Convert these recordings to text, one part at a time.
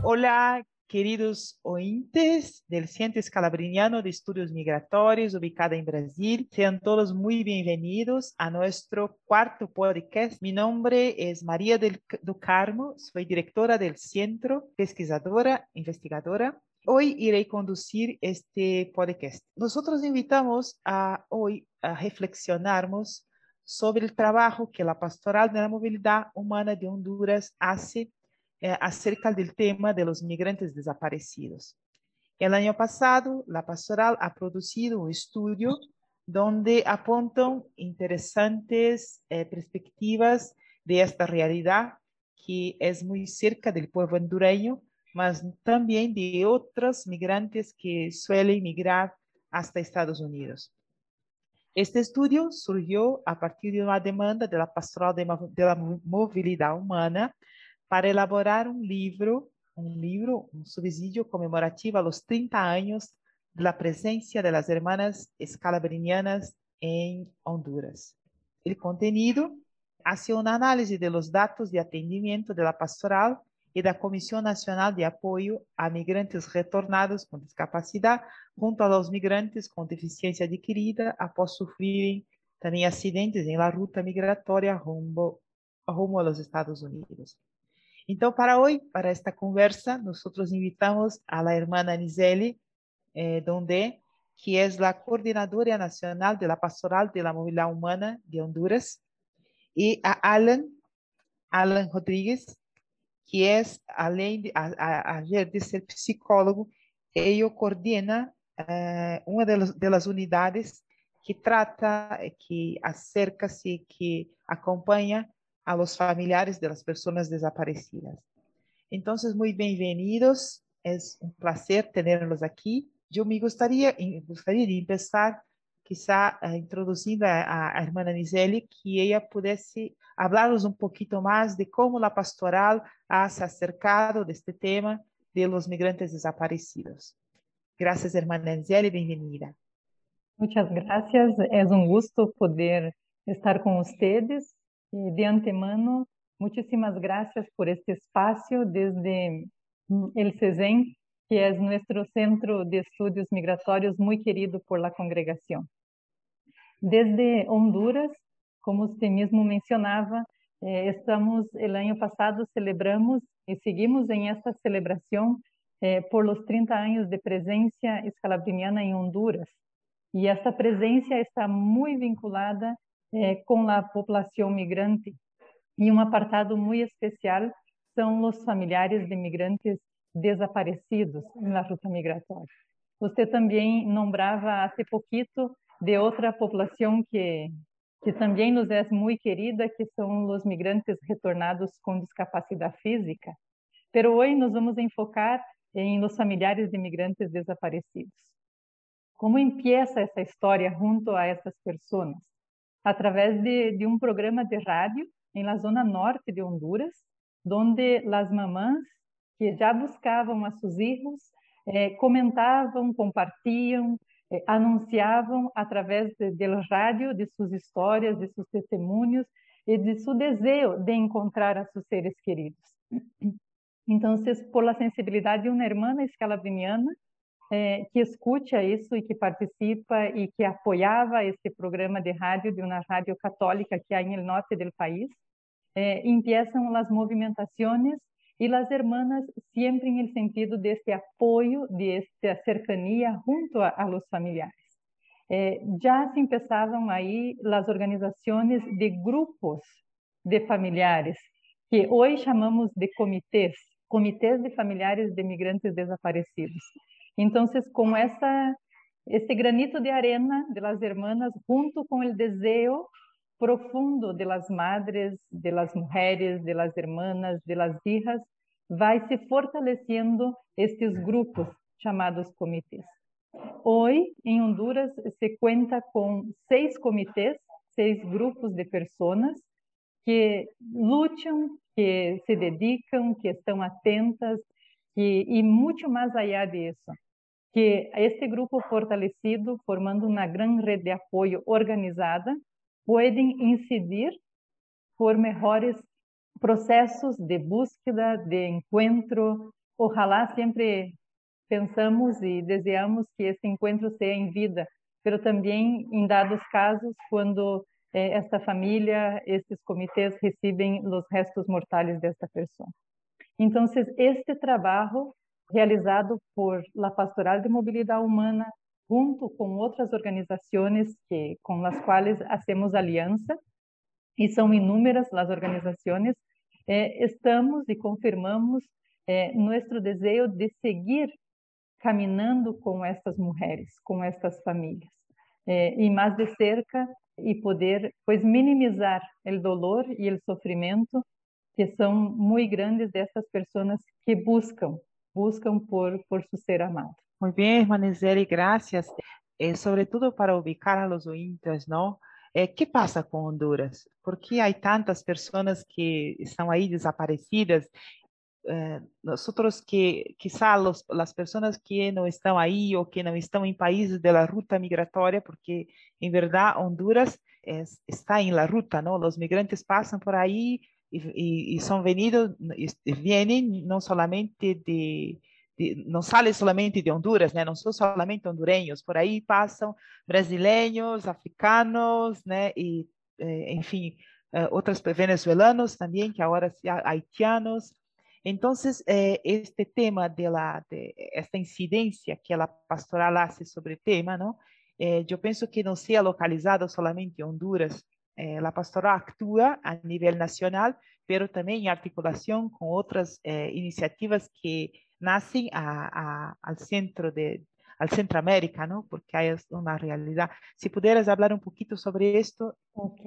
Hola, queridos oyentes del Centro Escalabriniano de Estudios Migratorios, ubicada en Brasil. Sean todos muy bienvenidos a nuestro cuarto podcast. Mi nombre es María do Carmo, soy directora del centro, pesquisadora, investigadora. Hoy iré conducir este podcast. Nosotros invitamos hoy a reflexionarmos sobre el trabajo que la Pastoral de la Movilidad Humana de Honduras hace acerca del tema de los migrantes desaparecidos. El año pasado, la pastoral ha producido un estudio donde apuntan interesantes perspectivas de esta realidad que es muy cerca del pueblo hondureño, mas también de otros migrantes que suelen migrar hasta Estados Unidos. Este estudio surgió a partir de una demanda de la Pastoral de la Movilidad Humana para elaborar un subsídio conmemorativo a los 30 años de la presencia de las hermanas escalabrinianas en Honduras. El contenido hace un análisis de los datos de atendimiento de la pastoral y de la Comisión Nacional de Apoyo a Migrantes Retornados con Discapacidad junto a los migrantes con deficiencia adquirida após sufrirem também acidentes em la ruta migratória rumo a los Estados Unidos. Então, para hoje, para esta conversa, nós invitamos a la hermana Niseli Donde, que é a coordenadora nacional de la Pastoral de la Movilidad Humana de Honduras, e a Alan Rodrigues, que é, além de ser psicólogo, ele coordena uma das unidades que trata, que acerca-se, que acompanha a los familiares de las personas desaparecidas. Entonces, muy bienvenidos. Es un placer tenerlos aquí. Yo me gustaría de empezar quizá introducindo a hermana Niseli, que ella pudiese hablarnos un poquito más de cómo la pastoral ha se acercado de este tema de los migrantes desaparecidos. Gracias, hermana Niseli, bienvenida. Muchas gracias, es un gusto poder estar con ustedes. De antemano, muchísimas gracias por este espacio desde el CESEM, que es nuestro centro de estudios migratorios muy querido por la congregación. Desde Honduras, como usted mismo mencionaba, estamos, el año pasado celebramos y seguimos en esta celebración por los 30 años de presencia escalabriniana en Honduras. Y esta presencia está muy vinculada con la población migrante. Y un apartado muy especial son los familiares de migrantes desaparecidos en la ruta migratoria. Usted también nombraba hace poquito de otra población que también nos es muy querida, que son los migrantes retornados con discapacidad física. Pero hoy nos vamos a enfocar en los familiares de migrantes desaparecidos. ¿Cómo empieza esa historia junto a estas personas? A través de un programa de radio en la zona norte de Honduras, donde las mamás que ya buscaban a sus hijos comentavam, compartilham, anunciavam através do rádio de suas histórias, de seus testemunhos e de seu desejo de encontrar a seus seres queridos. Então, por la sensibilidade de uma irmã escalabriniana que escuta isso e que participa e que apoiava este programa de rádio de uma rádio católica que há no norte do país, empiezan as movimentações y las hermanas siempre en el sentido de este apoyo, de esta cercanía junto a los familiares. Ya se empezaban ahí las organizaciones de grupos de familiares, que hoy llamamos de comités de familiares de migrantes desaparecidos. Entonces, con este granito de arena de las hermanas, junto con el deseo profundo de las madres, de las mujeres, de las hermanas, de las hijas, vai se fortalecendo estes grupos chamados comitês. Hoy, em Honduras, se cuenta com 6 comitês, 6 grupos de pessoas que lutam, que se dedicam, que estão atentas, e muito mais allá disso, que este grupo fortalecido, formando uma grande rede de apoio organizada, podem incidir por melhores processos de búsqueda, de encontro, Ojalá sempre pensamos e desejamos que esse encontro seja em vida, mas também em dados casos quando esta família, estes comitês recebem os restos mortais desta pessoa. Então, este trabalho realizado por la Pastoral de Mobilidade Humana, junto com outras organizações com as quais hacemos aliança, e são inúmeras as organizações, estamos e confirmamos nosso desejo de seguir caminhando com estas mulheres, com estas famílias, e mais de cerca e poder, pues, minimizar o dolor e o sofrimento que são muito grandes dessas pessoas que buscam por su ser amado. Muy bien, Manizeli, gracias. Sobre todo para ubicar a los oyentes, ¿no? ¿Qué pasa con Honduras? ¿Por qué hay tantas personas que están ahí desaparecidas? Nosotros que quizá las personas que no están ahí o que no están en países de la ruta migratoria, porque en verdad Honduras está en la ruta, ¿no? Los migrantes pasan por ahí y son venidos, vienen no solamente não sale solamente de Honduras, né? Não são solamente hondureños, por aí passam brasileiros, africanos, né? E, enfim, outros venezuelanos também, que agora haitianos. Então, este tema de esta incidência que a pastoral hace sobre o tema, não? Eu penso que não seja localizado solamente em Honduras. A pastoral atua a nível nacional, pero também em articulação com outras iniciativas que nacen al Centroamérica, ¿no? Porque hay una realidad. Si pudieras hablar un poquito sobre esto. Ok.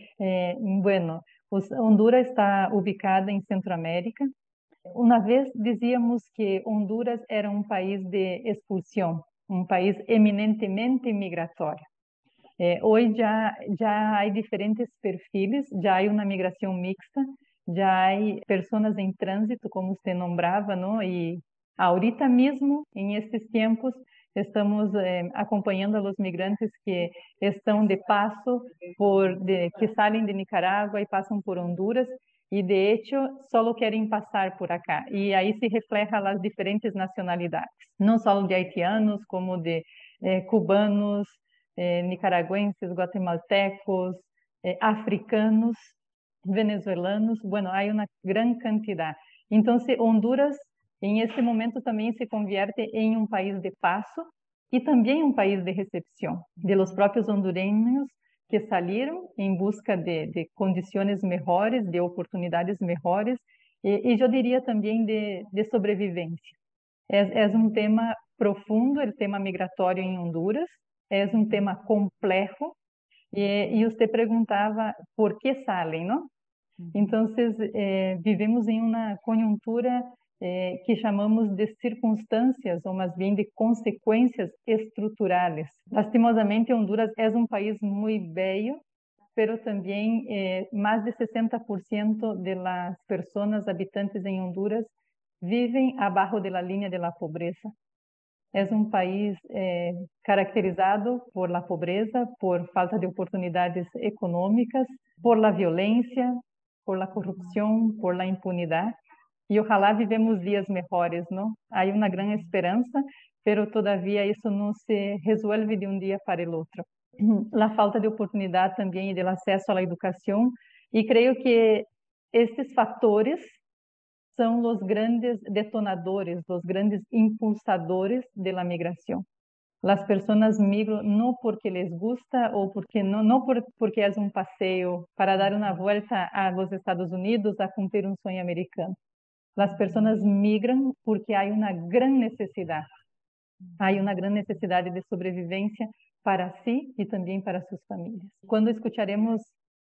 Bueno, Honduras está ubicada em Centroamérica. Uma vez dizíamos que Honduras era um país de expulsão, um país eminentemente migratório. Hoje já há diferentes perfiles, já há uma migração mixta, já há pessoas em trânsito, como você nombrava, não? E ahorita mesmo, em estes tempos, estamos acompanhando os migrantes que estão de passo que saem de Nicarágua e passam por Honduras e de hecho só querem passar por acá. E aí se refleja as diferentes nacionalidades, não só de haitianos, como de cubanos, nicaragüenses, guatemaltecos, africanos, venezuelanos. Bueno, há uma grande quantidade. Então, Honduras, em este momento, também se convierte em um país de passo e também um país de recepção de los próprios hondureños que saíram em busca de condições melhores, de oportunidades melhores e eu diria também de sobrevivência. É um tema profundo, o tema migratório em Honduras, é um tema complexo e você perguntava por que saem, não? Então, vivemos em uma conjuntura que chamamos de circunstâncias, ou mais bem de consequências estruturais. Lastimosamente, Honduras é um país muito bello, pero também mais de 60% das pessoas habitantes em Honduras vivem abaixo da linha da pobreza. É um país caracterizado por la pobreza, por falta de oportunidades econômicas, por la violência, por la corrupção, por la impunidade. E ojalá vivemos dias melhores, não? Há uma grande esperança, pero todavia isso não se resolve de um dia para o outro. A falta de oportunidade também e do acesso à educação, e creio que estes fatores são os grandes detonadores, os grandes impulsadores da migração. As pessoas migram não porque les gusta ou porque porque é um passeio para dar uma volta aos Estados Unidos a cumprir um sonho americano. As pessoas migram porque há uma grande necessidade. Há uma grande necessidade de sobrevivência para si e também para suas famílias. Quando escutaremos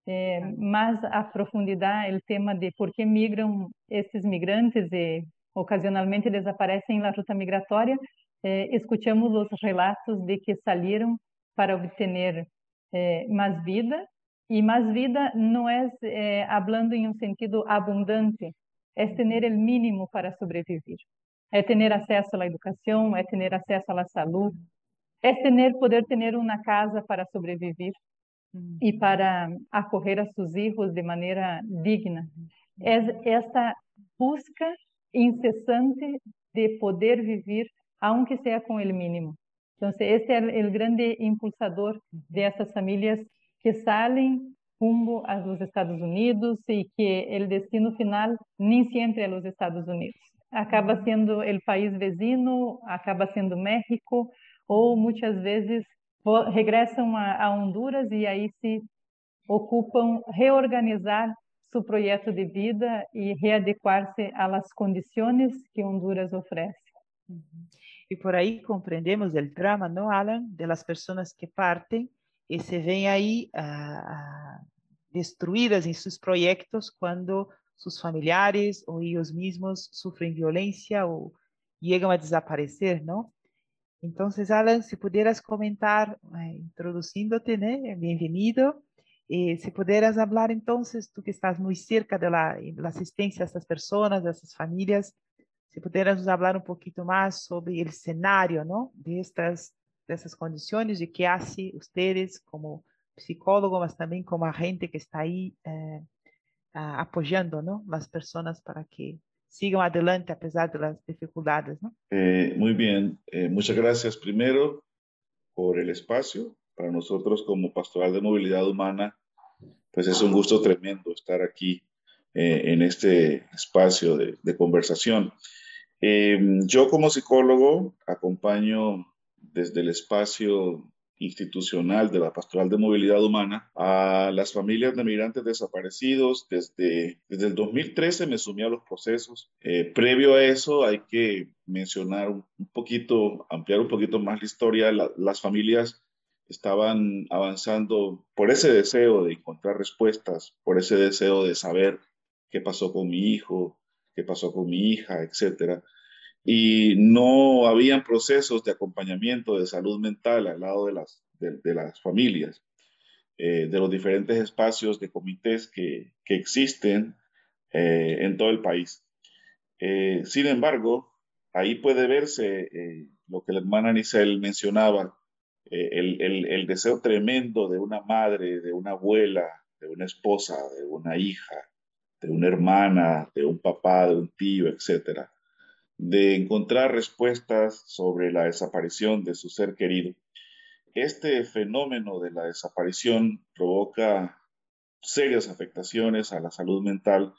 mais a profundidade o tema de por que migram esses migrantes e ocasionalmente desaparecem na ruta migratória, escutamos os relatos de que saíram para obter mais vida, e mais vida não é hablando em um sentido abundante, é ter o mínimo para sobreviver, é ter acesso à educação, é ter acesso à saúde, é poder ter uma casa para sobreviver e para acolher a seus filhos de maneira digna. É esta busca incesante de poder vivir, aunque sea con el mínimo. Entonces, este es el grande impulsador de estas familias que salen rumbo a los Estados Unidos y que el destino final ni siempre es los Estados Unidos. Acaba siendo el país vecino, acaba siendo México, o muchas veces regresan a Honduras y ahí se ocupam reorganizar seu projeto de vida e readequar-se às condições que Honduras oferece. Y por ahí comprendemos el drama, ¿no, Alan? De las personas que parten y se ven ahí destruidas en sus proyectos cuando sus familiares o ellos mismos sufren violencia o llegan a desaparecer, ¿no? Entonces, Alan, si pudieras comentar, introduciéndote, ¿no? Bienvenido. Si pudieras hablar entonces, tú que estás muy cerca de la asistencia a estas personas, a estas familias, si pudieras nos hablar un poquito más sobre el escenario, ¿no? De estas condiciones y qué hace ustedes como psicólogo, mas también como agente que está ahí apoyando, ¿no? Las personas para que sigan adelante a pesar de las dificultades, ¿no? Muy bien, muchas gracias primero por el espacio. Para nosotros como Pastoral de Movilidad Humana, pues es un gusto tremendo estar aquí en este espacio de conversación. Yo como psicólogo acompaño desde el espacio institucional de la Pastoral de Movilidad Humana a las familias de migrantes desaparecidos. Desde el 2013 me sumí a los procesos. Previo a eso hay que mencionar un poquito, ampliar un poquito más la historia. Las familias estaban avanzando por ese deseo de encontrar respuestas, por ese deseo de saber qué pasó con mi hijo, qué pasó con mi hija, etcétera. Y no habían procesos de acompañamiento de salud mental al lado de las familias, de los diferentes espacios de comités que existen en todo el país. Sin embargo, ahí puede verse lo que la hermana Nicel mencionaba, el deseo tremendo de una madre, de una abuela, de una esposa, de una hija, de una hermana, de un papá, de un tío, etcétera, de encontrar respuestas sobre la desaparición de su ser querido. Este fenómeno de la desaparición provoca serias afectaciones a la salud mental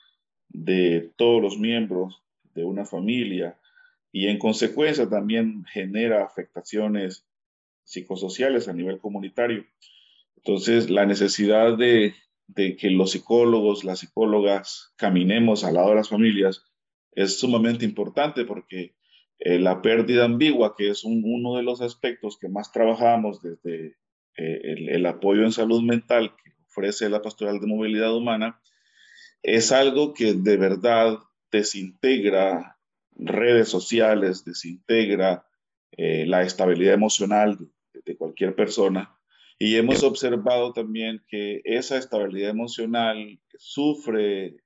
de todos los miembros de una familia y en consecuencia también genera afectaciones psicosociales a nivel comunitario. Entonces, la necesidad de que los psicólogos, las psicólogas caminemos al lado de las familias es sumamente importante porque la pérdida ambigua, que es uno de los aspectos que más trabajamos desde el apoyo en salud mental que ofrece la Pastoral de Movilidad Humana, es algo que de verdad desintegra redes sociales, desintegra la estabilidad emocional de cualquier persona. Y hemos observado también que esa estabilidad emocional sufre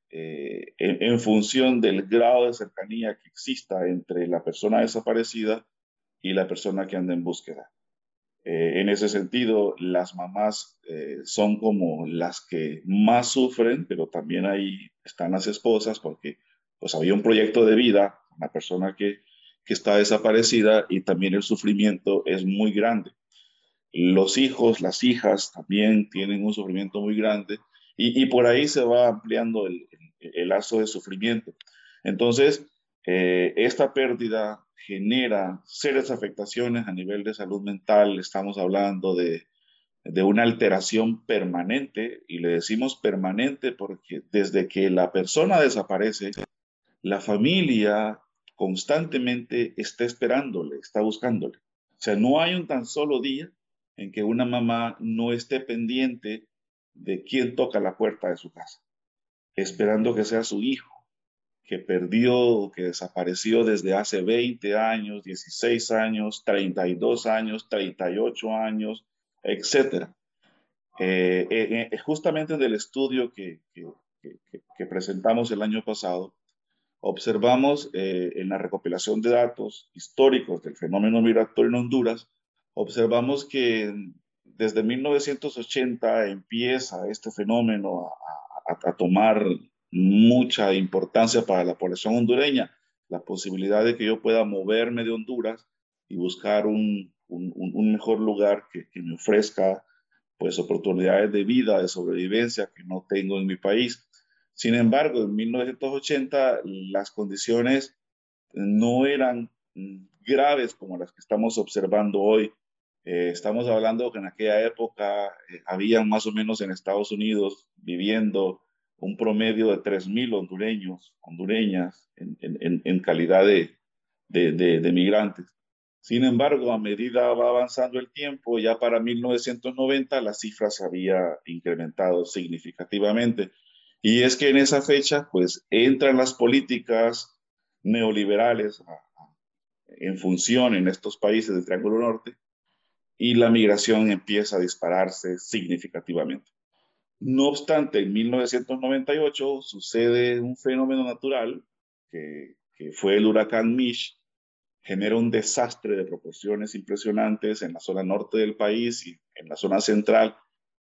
en función del grado de cercanía que exista entre la persona desaparecida y la persona que anda en búsqueda. En ese sentido, las mamás son como las que más sufren, pero también ahí están las esposas porque pues había un proyecto de vida, una persona que está desaparecida y también el sufrimiento es muy grande. Los hijos, las hijas también tienen un sufrimiento muy grande y por ahí se va ampliando el lazo de sufrimiento. Entonces, esta pérdida genera serias afectaciones a nivel de salud mental. Estamos hablando de una alteración permanente y le decimos permanente porque desde que la persona desaparece, la familia constantemente está esperándole, está buscándole. O sea, no hay un tan solo día en que una mamá no esté pendiente de quién toca la puerta de su casa, esperando que sea su hijo, que perdió, que desapareció desde hace 20 años, 16 años, 32 años, 38 años, etcétera. Justamente en el estudio que presentamos el año pasado, observamos en la recopilación de datos históricos del fenómeno migratorio en Honduras, observamos que desde 1980 empieza este fenómeno a tomar mucha importancia para la población hondureña. la posibilidad de que yo pueda moverme de Honduras y buscar un mejor lugar que me ofrezca pues oportunidades de vida, de sobrevivencia que no tengo en mi país. Sin embargo, en 1980 las condiciones no eran graves como las que estamos observando hoy. Estamos hablando que en aquella época había más o menos en Estados Unidos viviendo un promedio de 3.000 hondureños, hondureñas en calidad de migrantes. Sin embargo, a medida va avanzando el tiempo, ya para 1990 las cifras había incrementado significativamente. Y es que en esa fecha, pues, entran las políticas neoliberales en función en estos países del Triángulo Norte y la migración empieza a dispararse significativamente. No obstante, en 1998 sucede un fenómeno natural que fue el huracán Mish, genera un desastre de proporciones impresionantes en la zona norte del país y en la zona central,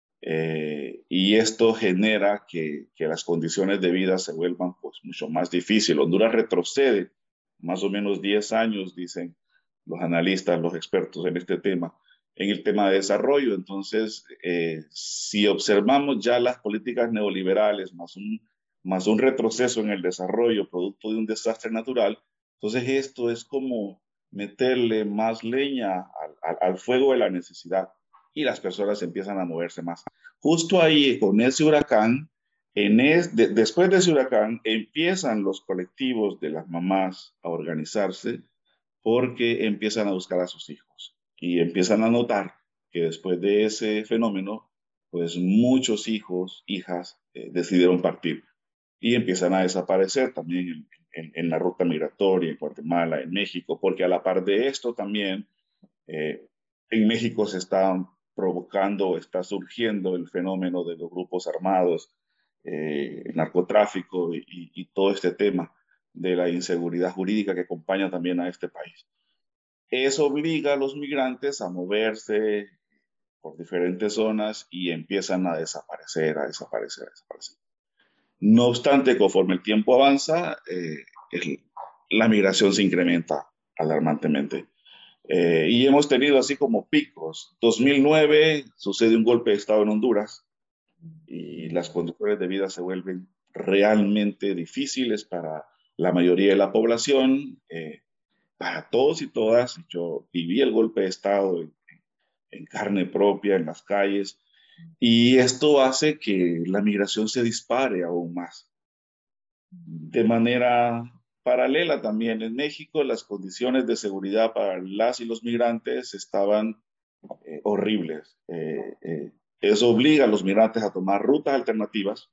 y esto genera que las condiciones de vida se vuelvan pues, mucho más difíciles. Honduras retrocede más o menos 10 años, dicen los analistas, los expertos en este tema, en el tema de desarrollo. Entonces, si observamos ya las políticas neoliberales más un retroceso en el desarrollo producto de un desastre natural, entonces esto es como meterle más leña al fuego de la necesidad y las personas empiezan a moverse más. Justo ahí, con ese huracán, después de ese huracán, empiezan los colectivos de las mamás a organizarse porque empiezan a buscar a sus hijos y empiezan a notar que después de ese fenómeno, pues muchos hijos, hijas, decidieron partir y empiezan a desaparecer también en la ruta migratoria, en Guatemala, en México, porque a la par de esto también eh, en México se está provocando, está surgiendo el fenómeno de los grupos armados, el narcotráfico y todo este tema de la inseguridad jurídica que acompaña también a este país. Eso obliga a los migrantes a moverse por diferentes zonas y empiezan a desaparecer, a desaparecer, a desaparecer. No obstante, conforme el tiempo avanza, la migración se incrementa alarmantemente. Y hemos tenido así como picos. 2009 sucede un golpe de Estado en Honduras y las condiciones de vida se vuelven realmente difíciles para la mayoría de la población, para todos y todas. Yo viví el golpe de Estado en carne propia, en las calles, y esto hace que la migración se dispare aún más. De manera paralela también en México, las condiciones de seguridad para las y los migrantes estaban horribles. Eso obliga a los migrantes a tomar rutas alternativas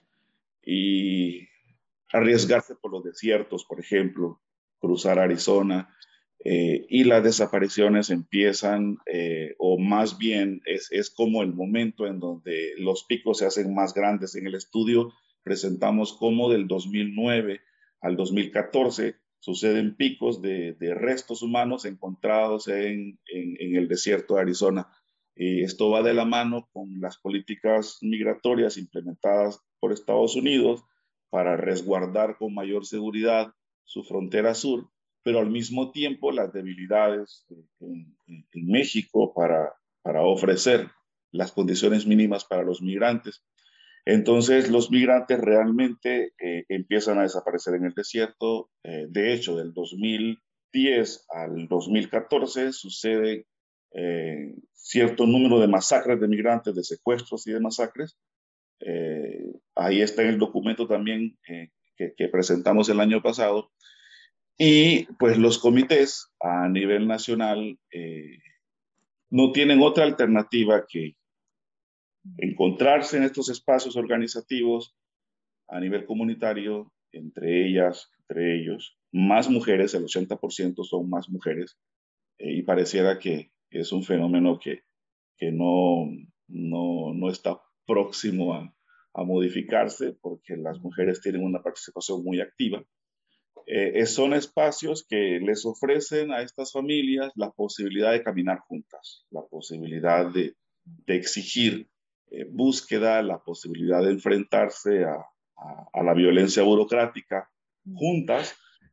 y arriesgarse por los desiertos, por ejemplo, cruzar Arizona, y las desapariciones empiezan, o más bien es como el momento en donde los picos se hacen más grandes. En el estudio presentamos cómo del 2009 al 2014 suceden picos de restos humanos encontrados en el desierto de Arizona. Y esto va de la mano con las políticas migratorias implementadas por Estados Unidos para resguardar con mayor seguridad su frontera sur, pero al mismo tiempo las debilidades en México para ofrecer las condiciones mínimas para los migrantes. Entonces los migrantes realmente empiezan a desaparecer en el desierto. De hecho, del 2010 al 2014 sucede cierto número de masacres de migrantes, de secuestros y de masacres. Ahí está en el documento también que presentamos el año pasado. Y pues los comités a nivel nacional no tienen otra alternativa que encontrarse en estos espacios organizativos a nivel comunitario, entre ellas, entre ellos, más mujeres, el 80% son más mujeres, y pareciera que es un fenómeno que no está próximo a modificarse porque las mujeres tienen una participación muy activa. Son espacios que les ofrecen a estas familias la posibilidad de caminar juntas, la posibilidad de exigir búsqueda, la posibilidad de enfrentarse a la violencia burocrática juntas,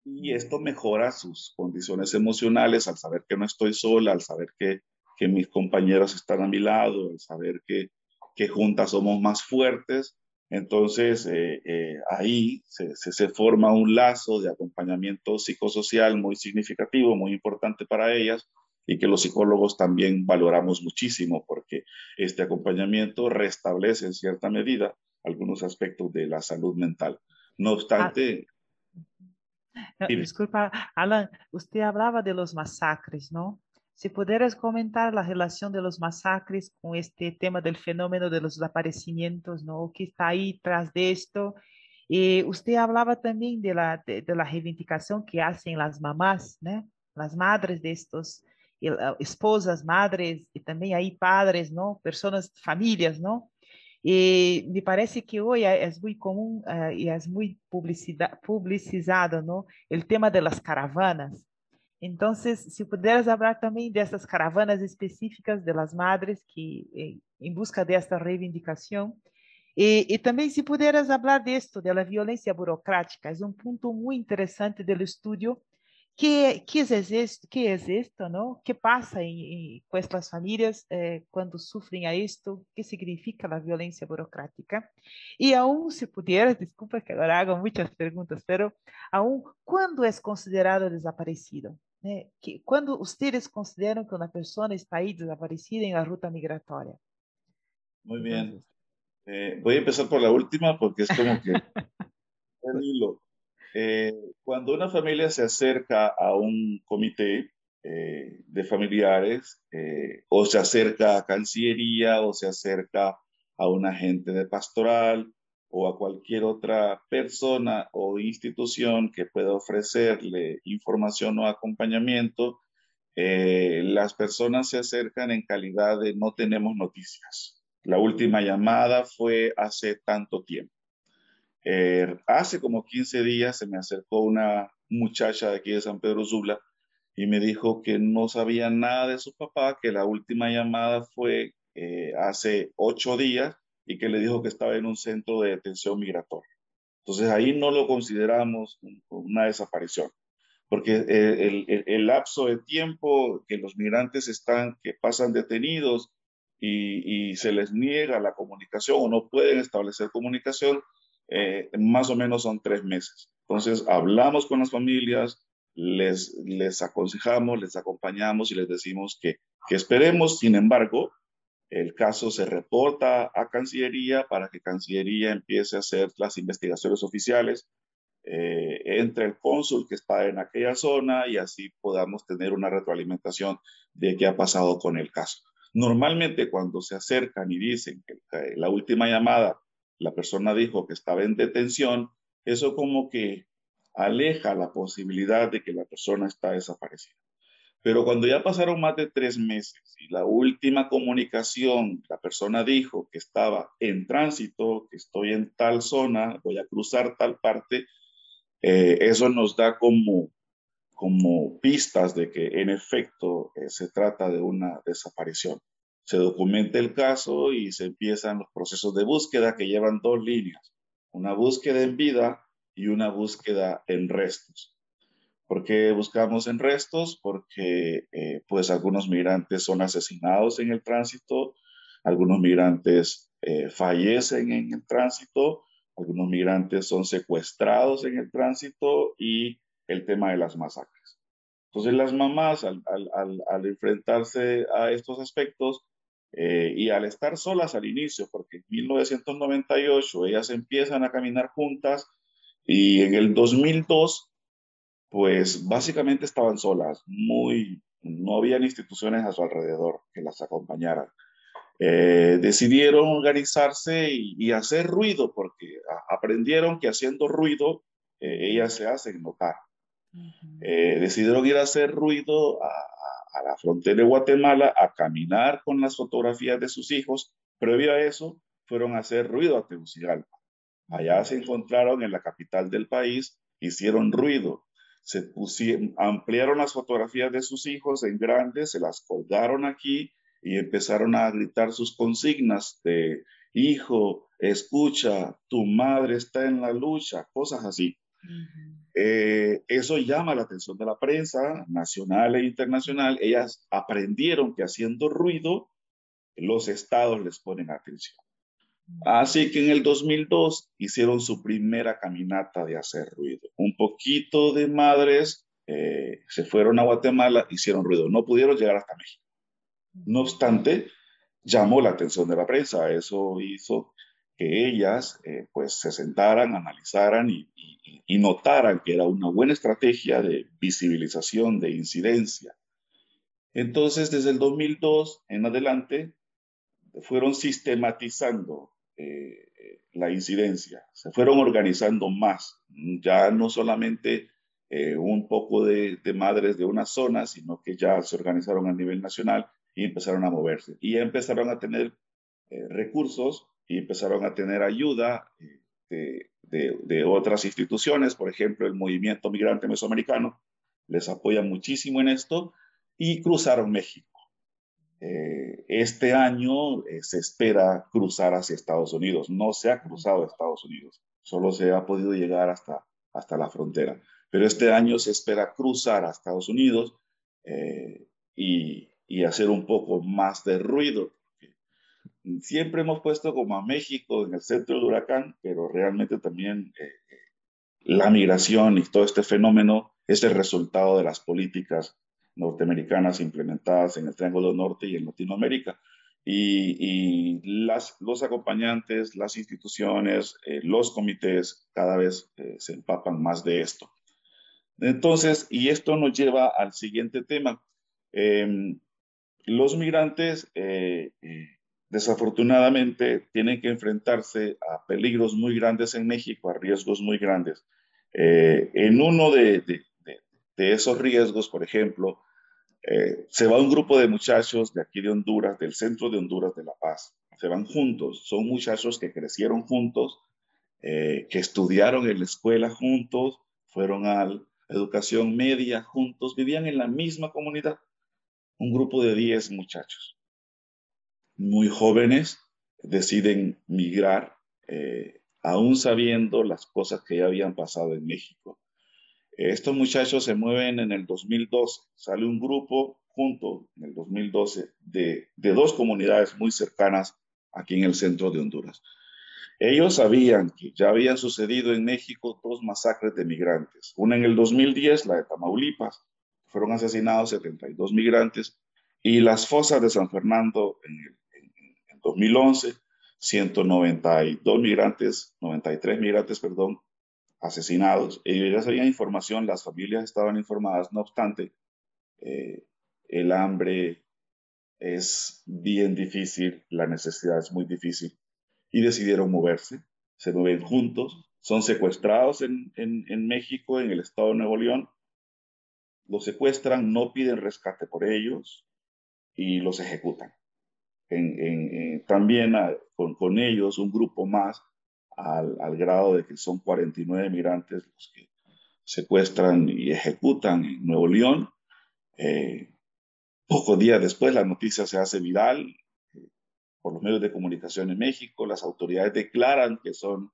y esto mejora sus condiciones emocionales al saber que no estoy sola, al saber que mis compañeros están a mi lado, al saber que juntas somos más fuertes. Entonces, ahí se forma un lazo de acompañamiento psicosocial muy significativo, muy importante para ellas y que los psicólogos también valoramos muchísimo porque este acompañamiento restablece en cierta medida algunos aspectos de la salud mental. No Ah, obstante, no, dime. disculpa, Alan, usted hablaba de los masacres, ¿no? Si pudieras comentar la relación de los masacres con este tema del fenómeno de los desaparecimientos, ¿no? ¿Qué está ahí tras de esto? Usted hablaba también de la reivindicación que hacen las mamás, ¿no? Las madres de estos, esposas, madres y también ahí padres, ¿no? Personas, familias, ¿no? Y me parece que hoy es muy común y es muy publicizado, ¿no? El tema de las caravanas. Entonces, si pudieras hablar también de estas caravanas específicas de las madres que en busca de esta reivindicación. Y también si pudieras hablar de esto, de la violencia burocrática, es un punto muy interesante del estudio. ¿Qué es esto, no? ¿Qué pasa con estas familias cuando sufren a esto? ¿Qué significa la violencia burocrática? Y aún si pudieras, disculpa que ahora hago muchas preguntas, pero aún, ¿cuándo es considerado desaparecido? ¿Cuándo ustedes consideran que una persona está ahí desaparecida en la ruta migratoria? Muy bien. Entonces, Voy a empezar por la última porque es como que el hilo. Eh, Cuando una familia se acerca a un comité de familiares o se acerca a Cancillería o se acerca a un agente de pastoral o a cualquier otra persona o institución que pueda ofrecerle información o acompañamiento, las personas se acercan en calidad de no tenemos noticias. La última llamada fue hace tanto tiempo. Hace como 15 días se me acercó una muchacha de aquí de San Pedro Sula y me dijo que no sabía nada de su papá, que la última llamada fue hace 8 días y que le dijo que estaba en un centro de detención migratoria. Entonces ahí no lo consideramos una desaparición, porque el lapso de tiempo que los migrantes están, que pasan detenidos y se les niega la comunicación o no pueden establecer comunicación, más o menos son 3 meses. Entonces hablamos con las familias, les aconsejamos, les acompañamos y les decimos que esperemos. Sin embargo, el caso se reporta a Cancillería para que Cancillería empiece a hacer las investigaciones oficiales entre el cónsul que está en aquella zona y así podamos tener una retroalimentación de qué ha pasado con el caso. Normalmente cuando se acercan y dicen que la última llamada, la persona dijo que estaba en detención, eso como que aleja la posibilidad de que la persona está desaparecida. Pero cuando ya pasaron más de 3 meses y la última comunicación, la persona dijo que estaba en tránsito, que estoy en tal zona, voy a cruzar tal parte, eso nos da como pistas de que en efecto se trata de una desaparición. Se documenta el caso y se empiezan los procesos de búsqueda que llevan 2 líneas, una búsqueda en vida y una búsqueda en restos. ¿Por qué buscamos en restos? Porque pues algunos migrantes son asesinados en el tránsito, algunos migrantes fallecen en el tránsito, algunos migrantes son secuestrados en el tránsito y el tema de las masacres. Entonces las mamás al enfrentarse a estos aspectos y al estar solas al inicio, porque en 1998 ellas empiezan a caminar juntas y en el 2002 pues básicamente estaban solas, no habían instituciones a su alrededor que las acompañaran. Decidieron organizarse y hacer ruido porque aprendieron que haciendo ruido ellas se hacen notar. ujú. Decidieron ir a hacer ruido a la frontera de Guatemala, a caminar con las fotografías de sus hijos. Previo a eso, fueron a hacer ruido a Tegucigalpa. Allá se encontraron en la capital del país, hicieron ruido, ampliaron las fotografías de sus hijos en grandes, se las colgaron aquí y empezaron a gritar sus consignas de hijo, escucha, tu madre está en la lucha, cosas así. Eso llama la atención de la prensa nacional e internacional. Ellas aprendieron que haciendo ruido, los estados les ponen atención. Así que en el 2002 hicieron su primera caminata de hacer ruido. Un poquito de madres se fueron a Guatemala, hicieron ruido. No pudieron llegar hasta México. No obstante, llamó la atención de la prensa. Eso hizo que ellas pues se sentaran, analizaran y notaran que era una buena estrategia de visibilización, de incidencia. Entonces, desde el 2002 en adelante, fueron sistematizando la incidencia, se fueron organizando más, ya no solamente un poco de madres de una zona, sino que ya se organizaron a nivel nacional y empezaron a moverse. Y empezaron a tener recursos y empezaron a tener ayuda de otras instituciones, por ejemplo, el Movimiento Migrante Mesoamericano les apoya muchísimo en esto y cruzaron México. Este año se espera cruzar hacia Estados Unidos. No se ha cruzado a Estados Unidos, solo se ha podido llegar hasta la frontera. Pero este año se espera cruzar a Estados Unidos y hacer un poco más de ruido. Siempre hemos puesto como a México en el centro del huracán, pero realmente también la migración y todo este fenómeno es el resultado de las políticas norteamericanas implementadas en el Triángulo Norte y en Latinoamérica. Y los acompañantes, las instituciones, los comités cada vez se empapan más de esto. Entonces, y esto nos lleva al siguiente tema. Los migrantes desafortunadamente tienen que enfrentarse a peligros muy grandes en México, a riesgos muy grandes. En uno de esos riesgos, por ejemplo, se va un grupo de muchachos de aquí de Honduras, del centro de Honduras de La Paz. Se van juntos, son muchachos que crecieron juntos, que estudiaron en la escuela juntos, fueron a la educación media juntos, vivían en la misma comunidad. Un grupo de 10 muchachos muy jóvenes deciden migrar, aún sabiendo las cosas que ya habían pasado en México. Estos muchachos se mueven en el 2012, sale un grupo junto en el 2012 de dos comunidades muy cercanas aquí en el centro de Honduras. Ellos sabían que ya habían sucedido en México 2 masacres de migrantes, una en el 2010, la de Tamaulipas, fueron asesinados 72 migrantes, y las fosas de San Fernando en 2011, 192 migrantes, 93 migrantes, perdón, asesinados. Ellos ya sabían información, las familias estaban informadas, no obstante, el hambre es bien difícil, la necesidad es muy difícil, y decidieron moverse, se mueven juntos, son secuestrados en México, en el estado de Nuevo León, los secuestran, no piden rescate por ellos y los ejecutan. También con ellos, un grupo más, al grado de que son 49 migrantes los que secuestran y ejecutan en Nuevo León. Pocos días después la noticia se hace viral por los medios de comunicación en México. Las autoridades declaran que son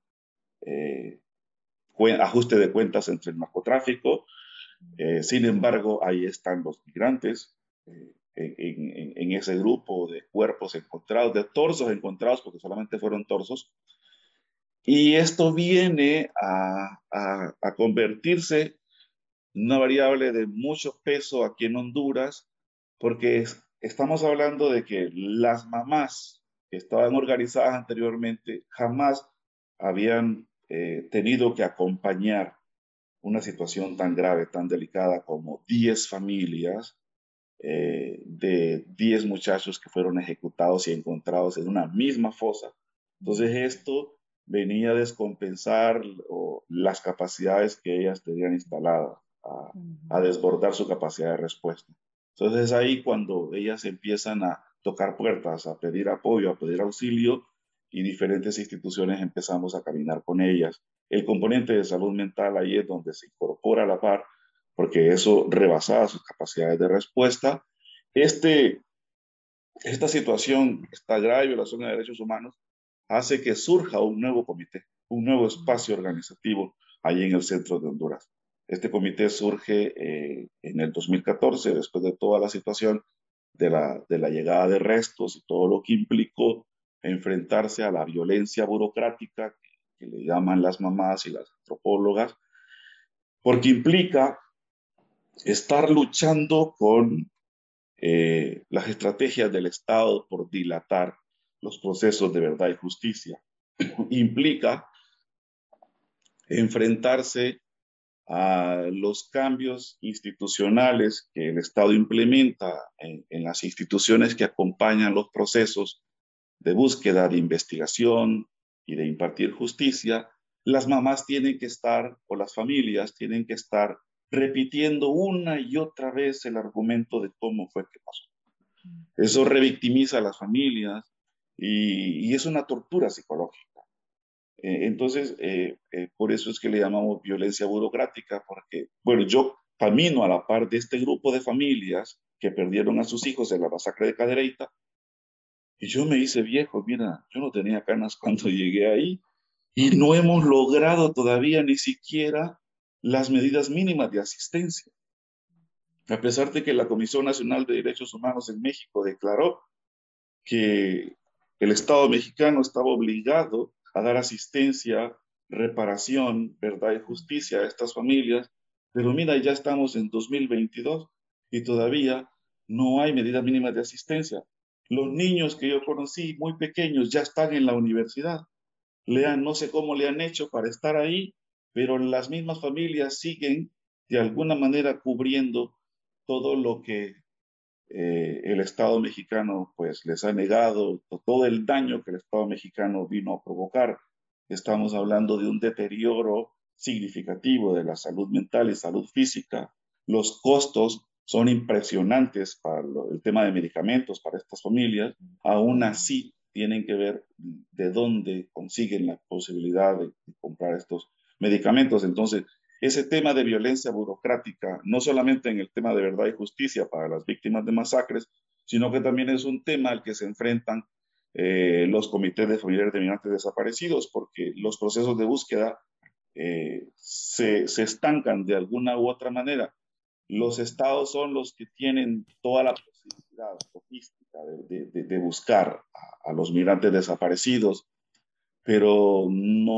ajuste de cuentas entre el narcotráfico. Sin embargo, ahí están los migrantes en ese grupo de cuerpos encontrados, de torsos encontrados, porque solamente fueron torsos. Y esto viene a convertirse en una variable de mucho peso aquí en Honduras, porque estamos hablando de que las mamás que estaban organizadas anteriormente jamás habían tenido que acompañar una situación tan grave, tan delicada como 10 familias de 10 muchachos que fueron ejecutados y encontrados en una misma fosa. Entonces esto venía a descompensar las capacidades que ellas tenían instaladas, a desbordar su capacidad de respuesta. Entonces es ahí cuando ellas empiezan a tocar puertas, a pedir apoyo, a pedir auxilio, y diferentes instituciones empezamos a caminar con ellas. El componente de salud mental ahí es donde se incorpora a la par, porque eso rebasaba sus capacidades de respuesta. Esta situación, esta grave violación de derechos humanos, hace que surja un nuevo comité, un nuevo espacio organizativo allí en el centro de Honduras. Este comité surge en el 2014, después de toda la situación de la llegada de restos y todo lo que implicó enfrentarse a la violencia burocrática que le llaman las mamás y las antropólogas, porque implica estar luchando con las estrategias del Estado por dilatar los procesos de verdad y justicia. Implica enfrentarse a los cambios institucionales que el Estado implementa en las instituciones que acompañan los procesos de búsqueda, de investigación y de impartir justicia. Las mamás tienen que estar, o las familias tienen que estar repitiendo una y otra vez el argumento de cómo fue que pasó. Eso revictimiza a las familias y es una tortura psicológica. Por eso es que le llamamos violencia burocrática, porque, bueno, yo camino a la par de este grupo de familias que perdieron a sus hijos en la masacre de Cadereyta, y yo me hice viejo, mira, yo no tenía canas cuando llegué ahí, y no hemos logrado todavía ni siquiera las medidas mínimas de asistencia. A pesar de que la Comisión Nacional de Derechos Humanos en México declaró que el Estado mexicano estaba obligado a dar asistencia, reparación, verdad y justicia a estas familias, pero mira, ya estamos en 2022 y todavía no hay medidas mínimas de asistencia. Los niños que yo conocí muy pequeños ya están en la universidad. No sé cómo le han hecho para estar ahí, pero las mismas familias siguen de alguna manera cubriendo todo lo que el Estado mexicano pues les ha negado, todo el daño que el Estado mexicano vino a provocar. Estamos hablando de un deterioro significativo de la salud mental y salud física. Los costos son impresionantes para el tema de medicamentos para estas familias. Aún así, tienen que ver de dónde consiguen la posibilidad de comprar estos medicamentos. Entonces, ese tema de violencia burocrática, no solamente en el tema de verdad y justicia para las víctimas de masacres, sino que también es un tema al que se enfrentan los comités de familiares de migrantes desaparecidos, porque los procesos de búsqueda se estancan de alguna u otra manera. Los estados son los que tienen toda la posibilidad logística de buscar a los migrantes desaparecidos, pero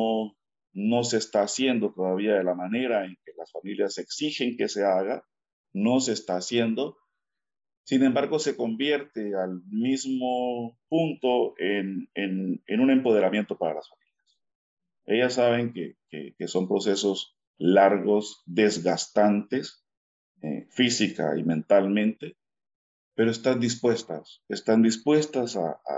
no se está haciendo todavía de la manera en que las familias exigen que se haga, no se está haciendo. Sin embargo, se convierte al mismo punto en un empoderamiento para las familias. Ellas saben que son procesos largos, desgastantes, física y mentalmente, pero están dispuestas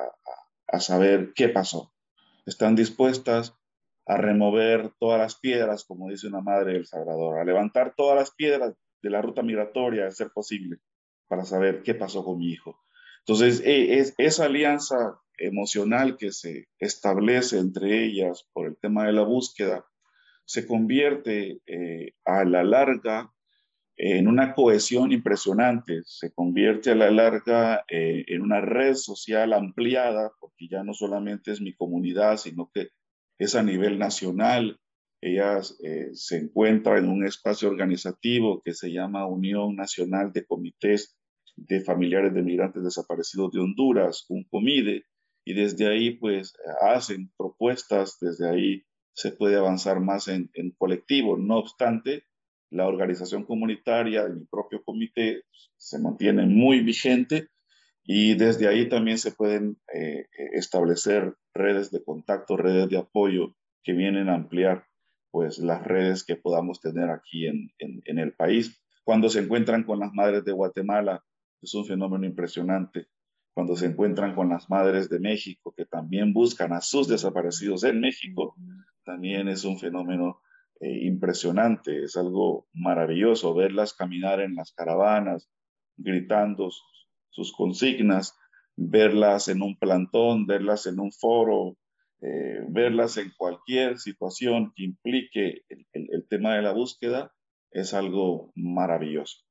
a saber qué pasó, están dispuestas a remover todas las piedras, como dice una madre del Salvador, a levantar todas las piedras de la ruta migratoria, a ser posible, para saber qué pasó con mi hijo. Entonces, esa alianza emocional que se establece entre ellas por el tema de la búsqueda se convierte a la larga en una cohesión impresionante, se convierte a la larga en una red social ampliada, porque ya no solamente es mi comunidad, sino que es a nivel nacional. Ellas se encuentran en un espacio organizativo que se llama Unión Nacional de Comités de Familiares de Migrantes Desaparecidos de Honduras, un COMIDE, y desde ahí pues hacen propuestas, desde ahí se puede avanzar más en colectivo. No obstante, la organización comunitaria de mi propio comité se mantiene muy vigente y desde ahí también se pueden establecer redes de contacto, redes de apoyo que vienen a ampliar pues las redes que podamos tener aquí en el país. Cuando se encuentran con las madres de Guatemala, es un fenómeno impresionante. Cuando se encuentran con las madres de México, que también buscan a sus desaparecidos en México, también es un fenómeno impresionante, es algo maravilloso verlas caminar en las caravanas, gritando sus consignas, verlas en un plantón, verlas en un foro, verlas en cualquier situación que implique el tema de la búsqueda, es algo maravilloso.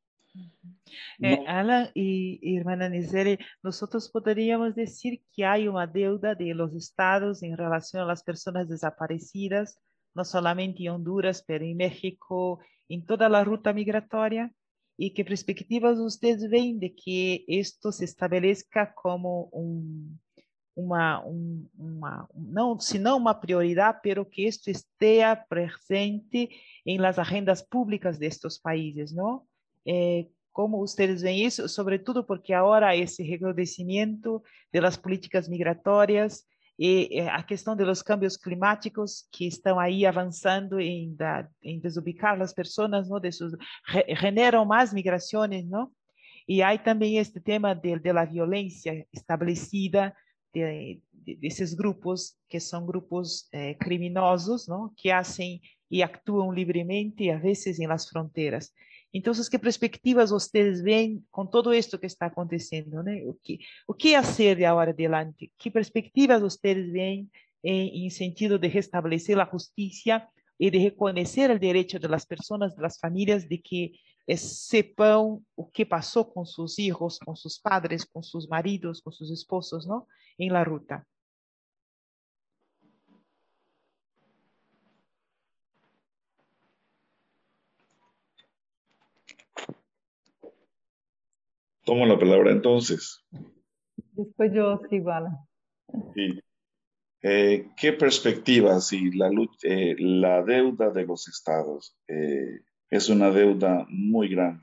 No, Alan y hermana Nizeli, nosotros podríamos decir que hay una deuda de los estados en relación a las personas desaparecidas no solamente en Honduras, pero en México, en toda la ruta migratoria? ¿Y qué perspectivas ustedes ven de que esto se establezca como no, sino una prioridad, pero que esto esté presente en las agendas públicas de estos países, ¿no? ¿Cómo ustedes ven eso? Sobre todo porque ahora ese recrudecimiento de las políticas migratorias, a questão de los cambios climáticos que estão aí avançando em desubicar as pessoas, ¿no? Generam mais migrações, ¿no? E há também este tema de la violência estabelecida desses grupos, que são grupos criminosos, ¿no? Que hacen e actuam livremente, a vezes, em las fronteiras. Então, que perspectivas vocês veem com todo isto que está acontecendo, né? O que fazer de agora adelante? Que perspectivas vocês veem em sentido de restabelecer a justiça e de reconhecer o direito das pessoas, das famílias, de que sepam o que passou com seus filhos, com seus padres, com seus maridos, com seus esposos, ¿no? En la ruta. Tomo la palabra entonces. Después yo sigo, Alan. Sí. ¿Qué perspectivas y la deuda de los estados? Es una deuda muy grande.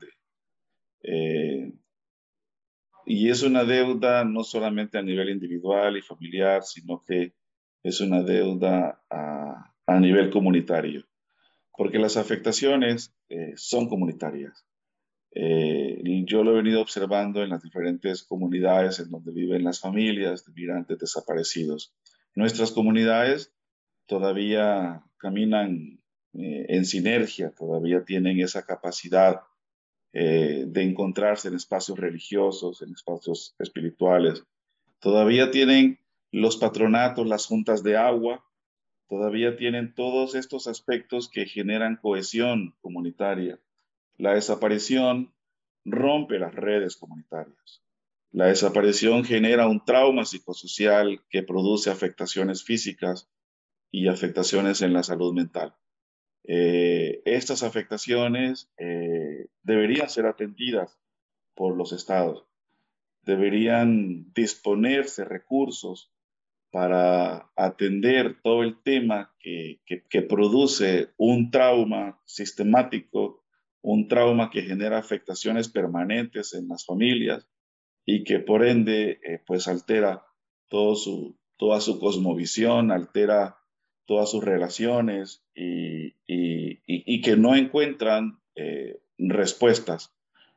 Y es una deuda no solamente a nivel individual y familiar, sino que es una deuda a nivel comunitario, porque las afectaciones son comunitarias. Yo lo he venido observando en las diferentes comunidades en donde viven las familias de migrantes desaparecidos. Nuestras comunidades todavía caminan en sinergia, todavía tienen esa capacidad de encontrarse en espacios religiosos, en espacios espirituales. Todavía tienen los patronatos, las juntas de agua, todavía tienen todos estos aspectos que generan cohesión comunitaria. La desaparición rompe las redes comunitarias. La desaparición genera un trauma psicosocial que produce afectaciones físicas y afectaciones en la salud mental. Estas afectaciones deberían ser atendidas por los estados. Deberían disponerse recursos para atender todo el tema que produce un trauma sistemático, un trauma que genera afectaciones permanentes en las familias y que por ende pues altera toda su cosmovisión, altera todas sus relaciones y que no encuentran respuestas.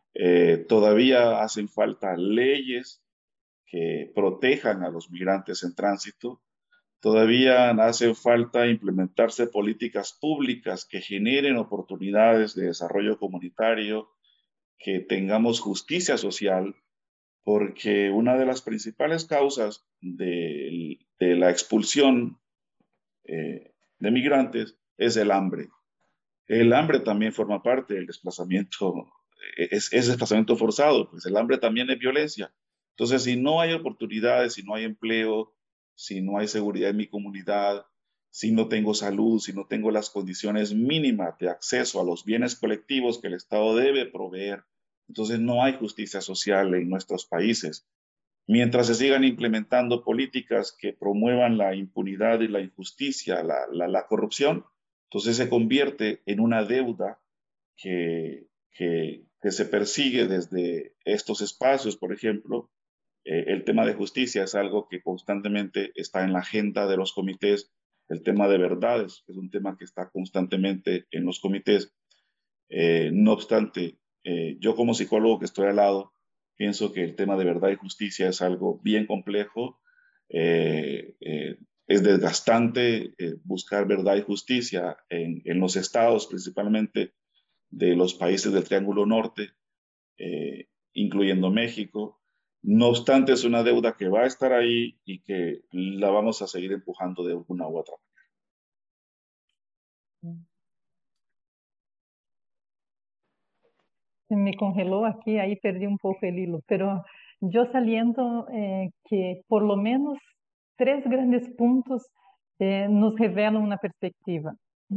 Todavía hacen falta leyes que protejan a los migrantes en tránsito. Todavía hacen falta implementarse políticas públicas que generen oportunidades de desarrollo comunitario, que tengamos justicia social, porque una de las principales causas de la expulsión de migrantes es el hambre. El hambre también forma parte del desplazamiento, es desplazamiento forzado, pues el hambre también es violencia. Entonces, si no hay oportunidades, si no hay empleo, si no hay seguridad en mi comunidad, si no tengo salud, si no tengo las condiciones mínimas de acceso a los bienes colectivos que el Estado debe proveer, entonces no hay justicia social en nuestros países. Mientras se sigan implementando políticas que promuevan la impunidad y la injusticia, la corrupción, entonces se convierte en una deuda que se persigue desde estos espacios. Por ejemplo, el tema de justicia es algo que constantemente está en la agenda de los comités. El tema de verdades es un tema que está constantemente en los comités. No obstante, yo como psicólogo que estoy al lado, pienso que el tema de verdad y justicia es algo bien complejo. Es desgastante buscar verdad y justicia en los estados, principalmente de los países del Triángulo Norte, incluyendo México. No obstante, es una deuda que va a estar ahí y que la vamos a seguir empujando de alguna u otra manera. Se me congeló aquí, ahí perdí un poco el hilo, pero yo saliendo que por lo menos tres grandes puntos nos revelan una perspectiva.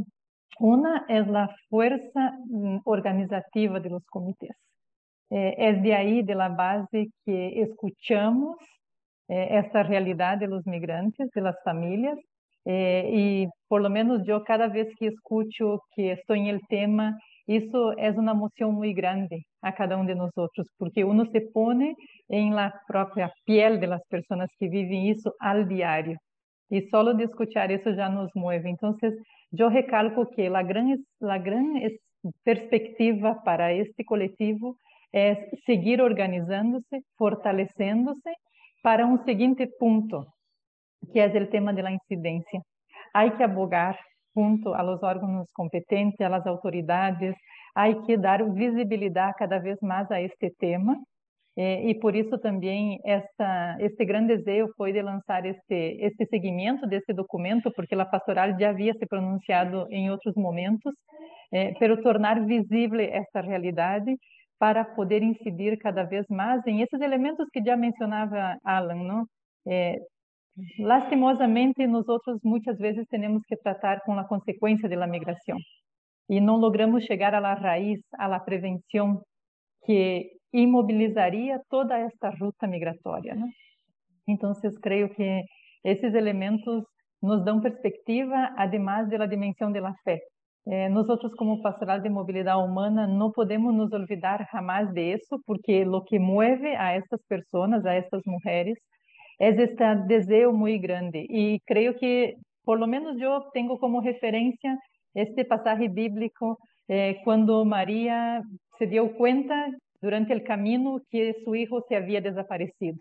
Una es la fuerza organizativa de los comités. Es de ahí, de la base, que escuchamos esta realidad de los migrantes, de las familias, y por lo menos yo cada vez que escucho, que estoy en el tema, eso es una emoción muy grande a cada uno de nosotros, porque uno se pone en la propia piel de las personas que viven eso al diario. Y solo de escuchar eso ya nos mueve. Entonces, yo recalco que la gran perspectiva para este colectivo es seguir organizándose, fortaleciéndose para un siguiente punto, que es el tema de la incidencia. Hay que abogar junto a los órganos competentes, a las autoridades, hay que dar visibilidad cada vez más a este tema. E por isso também este grande desejo foi de lançar este seguimento desse documento, porque a pastoral já havia se pronunciado em outros momentos, pero tornar visível esta realidade para poder incidir cada vez mais em esses elementos que já mencionava Alan, não? Lastimosamente, nós outros muitas vezes temos que tratar com a consequência da migração e não logramos chegar à raiz, à prevenção que imobilizaria toda esta ruta migratória, né? Então, creio que esses elementos nos dão perspectiva, además da dimensão da fé. Nós, como Pastoral de Mobilidade Humana, não podemos nos olvidar jamais disso, porque o que move a estas pessoas, a estas mulheres, é este desejo muito grande. E creio que, por lo menos, eu tenho como referência este passagem bíblico, quando Maria se deu conta durante o caminho que seu filho se havia desaparecido.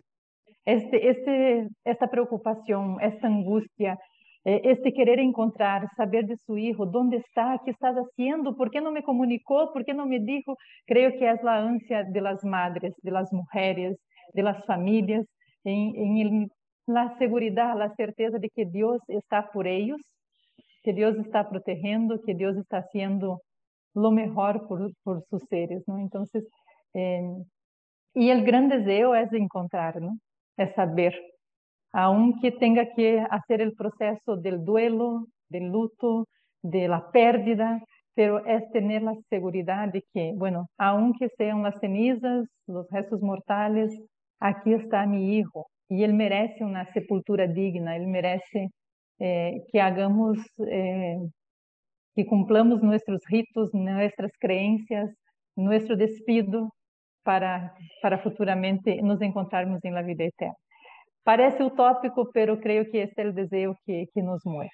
Esta preocupação, esta angústia, este querer encontrar, saber de seu filho, onde está, o que estás fazendo, por que não me comunicou, por que não me dijo, creio que é a ânsia de las madres, de las mulheres, de las famílias, em la seguridade, a certeza de que Deus está por eles, que Deus está protegendo, que Deus está haciendo lo mejor por sus seres, ¿no? Entonces, y el gran deseo es encontrar, ¿no? Es saber, aunque tenga que hacer el proceso del duelo, del luto, de la pérdida, pero es tener la seguridad de que, bueno, aunque sean las cenizas, los restos mortales, aquí está mi hijo, y él merece una sepultura digna, él merece que hagamos... que cumplamos nossos ritos, nossas crenças, nosso despido para futuramente nos encontrarmos em la vida eterna. Parece utópico, pero creio que este é o desejo que nos move.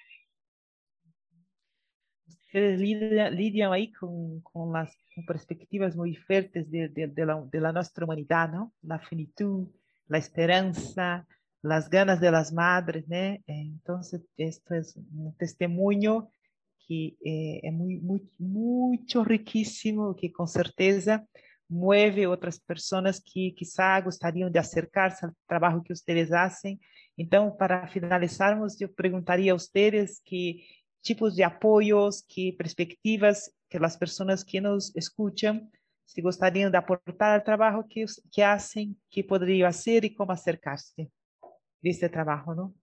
Ustedes lidian ahí con perspectivas muy fuertes de la nuestra humanidad, ¿no? La finitud, la esperanza, las ganas de las madres, ¿no? Entonces, esto es un testimonio que é muito riquíssimo, que com certeza mueve outras pessoas que quizá gostariam de acercar-se ao trabalho que vocês fazem. Então, para finalizarmos, eu perguntaria a vocês que tipos de apoios, que perspectivas que as pessoas que nos escutam, se gostariam de aportar ao trabalho que fazem, que poderiam fazer e como acercar-se deste trabalho, não?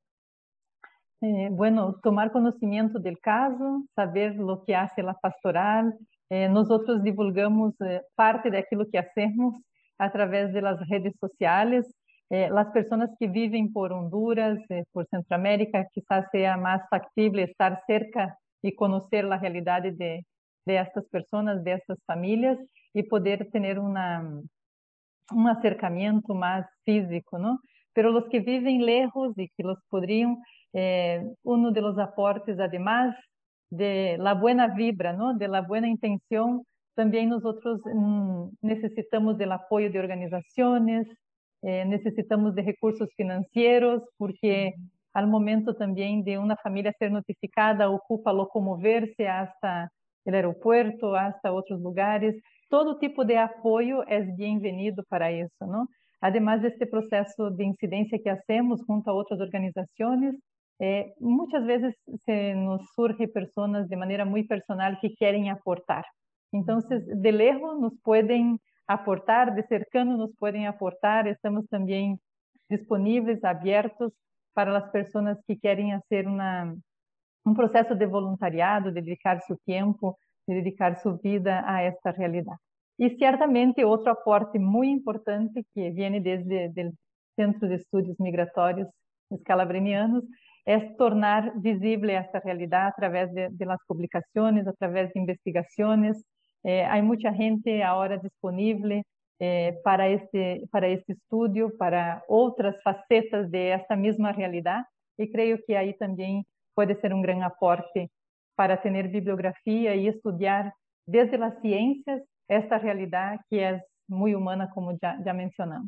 Bueno, tomar conhecimento do caso, saber o que hace la pastoral. Nosotros divulgamos parte daquilo que hacemos a través de las redes sociales. Las personas que viven por Honduras, por Centroamérica, quizás sea más factible estar cerca y conocer la realidad de estas personas, de estas familias y poder tener un acercamiento más físico, ¿no? Pero los que viven lejos y que los podrían, uno de los aportes, además de la buena vibra, ¿no? De la buena intención, también nosotros necesitamos del apoyo de organizaciones, necesitamos de recursos financieros, porque al momento también de una familia ser notificada, ocupa locomoverse hasta el aeropuerto, hasta otros lugares. Todo tipo de apoio é bem-vindo para isso, não? Además deste processo de incidência que hacemos junto a outras organizações, muitas vezes se nos surge pessoas de maneira muito personal que querem aportar. Então, de lejos nos podem aportar, de cercano nos podem aportar. Estamos também disponíveis, abertos para as pessoas que querem fazer um processo de voluntariado, de dedicar seu tempo, de dedicar sua vida a esta realidade. E certamente outro aporte muito importante que vem desde o Centro de Estudos Migratórios Escalabrinianos é tornar visível esta realidade através de las publicações, através de investigações. Há muita gente agora disponível para este estudo, para outras facetas de esta mesma realidade, e creio que aí também pode ser um grande aporte para ter bibliografia e estudar desde as ciências esta realidade que é muito humana, como já mencionamos.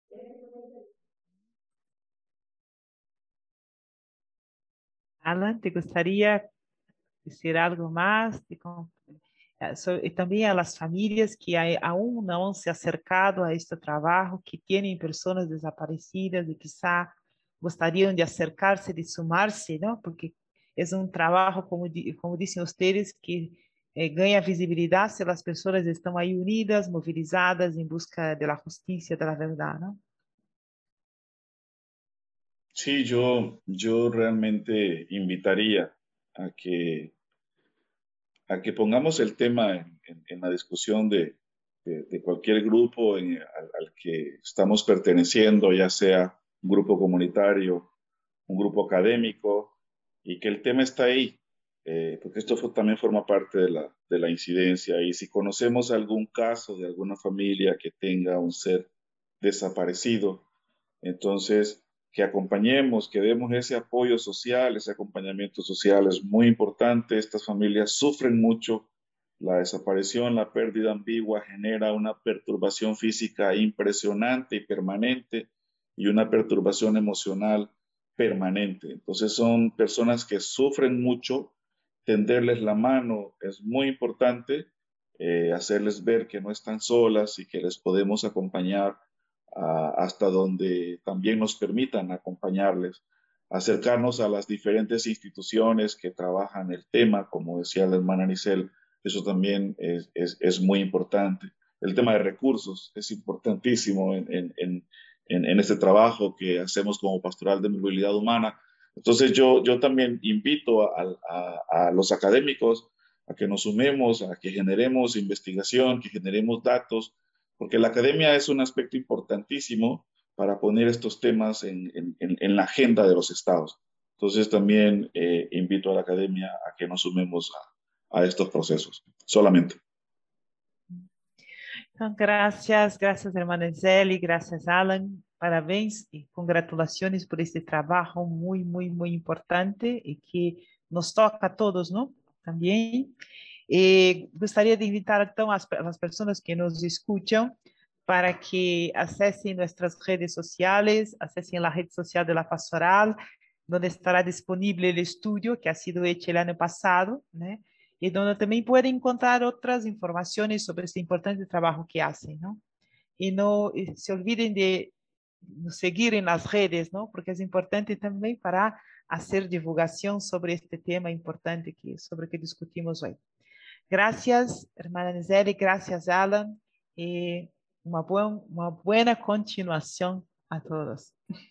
Alan, ¿te gustaría decir algo más? Y también a las familias que aún no han se acercado a este trabajo, que tienen personas desaparecidas y quizá gustarían de acercarse, de sumarse, ¿no? Porque es un trabajo, como dicen ustedes, que gana visibilidad si las personas están ahí unidas, movilizadas en busca de la justicia, de la verdad, ¿no? Sí, yo realmente invitaría a que pongamos el tema en la discusión de cualquier grupo al que estamos perteneciendo, ya sea un grupo comunitario, un grupo académico, y que el tema está ahí, porque esto también forma parte de la incidencia. Y si conocemos algún caso de alguna familia que tenga un ser desaparecido, entonces que acompañemos, que demos ese apoyo social, ese acompañamiento social es muy importante. Estas familias sufren mucho. La desaparición, la pérdida ambigua genera una perturbación física impresionante y permanente y una perturbación emocional permanente. Entonces son personas que sufren mucho. Tenderles la mano es muy importante, hacerles ver que no están solas y que les podemos acompañar hasta donde también nos permitan acompañarles, acercarnos a las diferentes instituciones que trabajan el tema, como decía la hermana Nicel, eso también es muy importante. El tema de recursos es importantísimo en este trabajo que hacemos como Pastoral de Movilidad Humana. Entonces yo también invito a los académicos a que nos sumemos, a que generemos investigación, que generemos datos, porque la academia es un aspecto importantísimo para poner estos temas en la agenda de los estados. Entonces también invito a la academia a que nos sumemos a estos procesos, solamente. Então, graças, hermana Zeli, graças, Alan, parabéns e congratulações por este trabalho muito importante e que nos toca a todos, não? Também. Gostaria de invitar, então, as pessoas que nos escutam para que acessem nossas redes sociais, acessem a rede social da Pastoral, onde estará disponível o estudo que ha sido hecho el ano passado, né? Y donde también pueden encontrar otras informaciones sobre este importante trabajo que hacen, ¿no? Y no se olviden de nos seguir en las redes, ¿no? Porque es importante también para hacer divulgación sobre este tema importante sobre que discutimos hoy. Gracias, hermana Nizeli, gracias, Alan, y una buena continuación a todos.